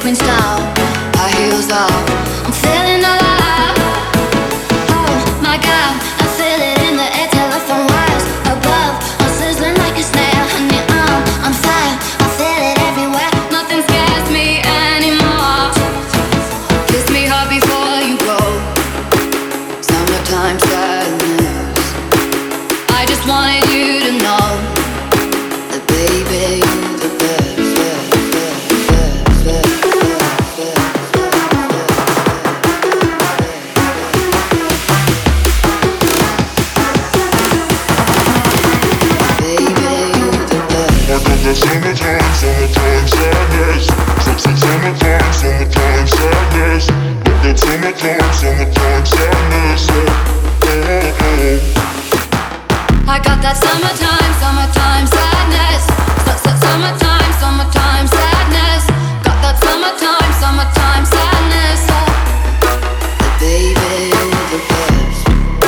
screen style, high heels off, I'm feeling alive. Oh my God, I feel it in the air, telephone wires above, I'm sizzling like a snare. Honey, I'm fire, I feel it everywhere. Nothing scares me anymore. Kiss me hard before you go. Summertime sadness. I just wanted you to know that, baby, you're the best. Summertime, summertime sadness. Summertime, summertime sadness. Summertime, summertime sadness. I got that summertime, summertime sadness. Summertime, summertime sadness. Got that summertime, summertime sadness. Baby, you're the best.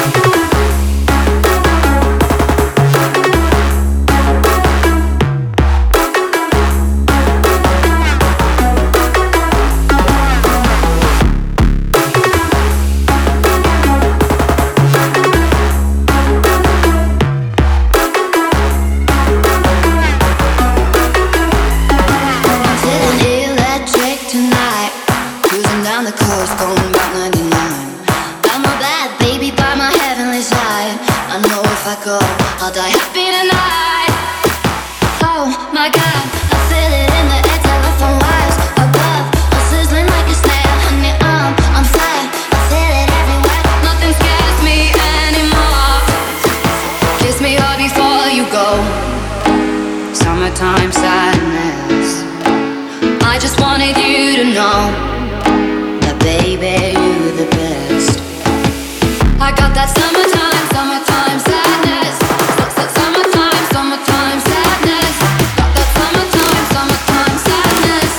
Down the coast, going about 99. I'm a bad baby by my heavenly side. I know if I go, I'll die happy tonight. Oh my God, I feel it in the air, telephone wires above, I'm sizzling like a snare. Honey, I'm fire, I feel it everywhere. Nothing scares me anymore. Kiss me hard before you go. Summertime sadness. I just wanted you to know, baby, you're the best. I got that summertime, summertime sadness. Summertime, summertime sadness. Got that summertime, summertime sadness.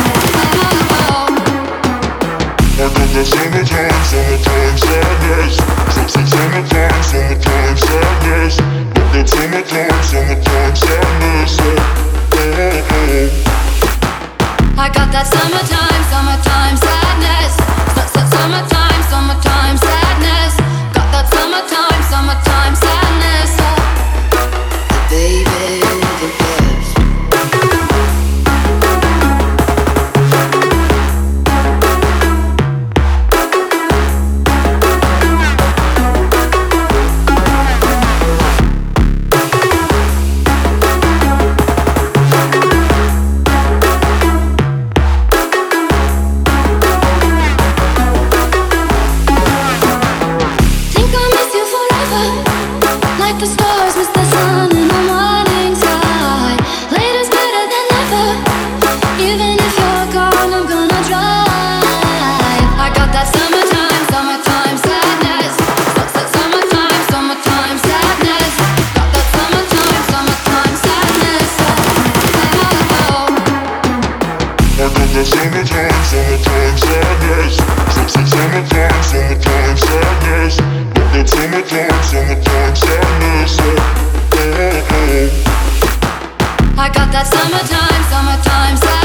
I got that summertime, summertime sadness. Summertime, summertime sadness. Got that summertime, summertime sadness. I got that summertime, summertime sadness. Summertime, summertime sadness. Got that summertime, summertime sadness. Baby, you're the best. Like the stars miss the sun in the morning sky. Later's better than never. Even if you're gone, I'm gonna drive. I got that summertime, summertime sadness. Summertime, summertime sadness. Got that summertime, summertime sadness. I got that summertime, summertime sadness. Summertime, summertime sadness. Got that summertime, summertime sadness. I got that summertime, summertime sadness.